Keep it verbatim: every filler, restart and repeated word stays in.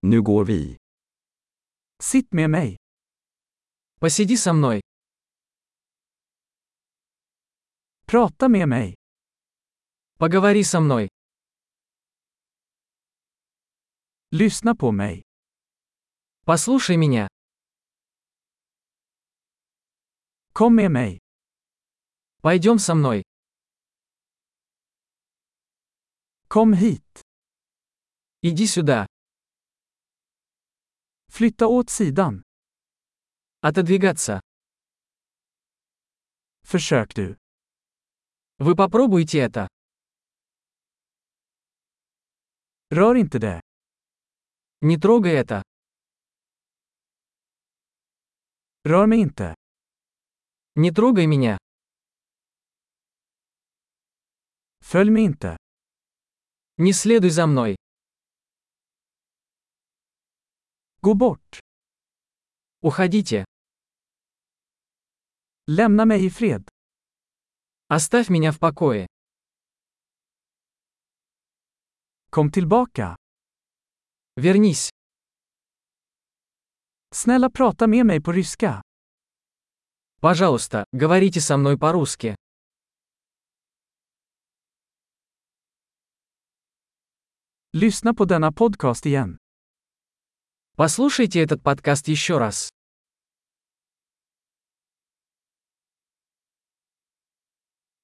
Nu går vi. Sitt med mig. Посиди со мной. Prata med mig. Поговори со мной. Lyssna på mig. Послушай меня. Kom med mig. Пойдем со мной. Kom hit. Иди сюда. Flytta åt sidan. Отодвигаться. Försök du. Вы попробуйте это. Rör inte det. Не трогай это. Rör mig inte. Не трогай меня. Följ mig inte. Не следуй за мной. Gå bort. Уходите. Lämna mig i fred. Оставь меня в покое. Kom tillbaka. Вернись. Snälla prata med mig på ryska. Пожалуйста, говорите со мной по-русски. Lyssna på denna podcast igen. Послушайте этот подкаст еще раз.